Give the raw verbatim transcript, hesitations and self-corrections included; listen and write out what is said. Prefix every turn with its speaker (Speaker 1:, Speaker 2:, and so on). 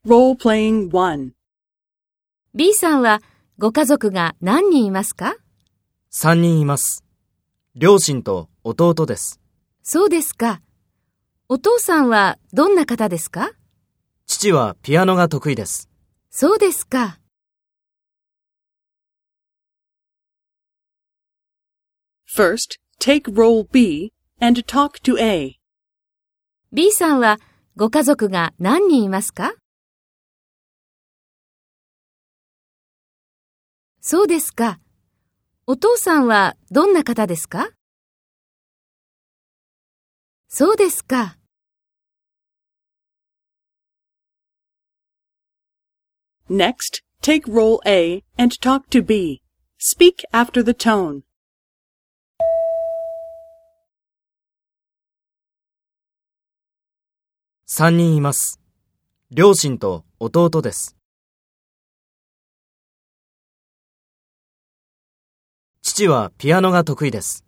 Speaker 1: Role-playing one.
Speaker 2: B さんはご家族が何人いますか？
Speaker 3: さんにんいます。両親と弟です。
Speaker 2: そうですか。お父さんはどんな方ですか？
Speaker 3: 父はピアノが得意です。
Speaker 2: そうですか。
Speaker 1: First, take role B and talk to A.
Speaker 2: B さんはご家族が何人いますか？そうですか。お父さんはどんな方ですか？そうですか。
Speaker 1: Next, take role A and talk to B. Speak after the tone.
Speaker 3: さんにんいます。両親と弟です。父はピアノが得意です。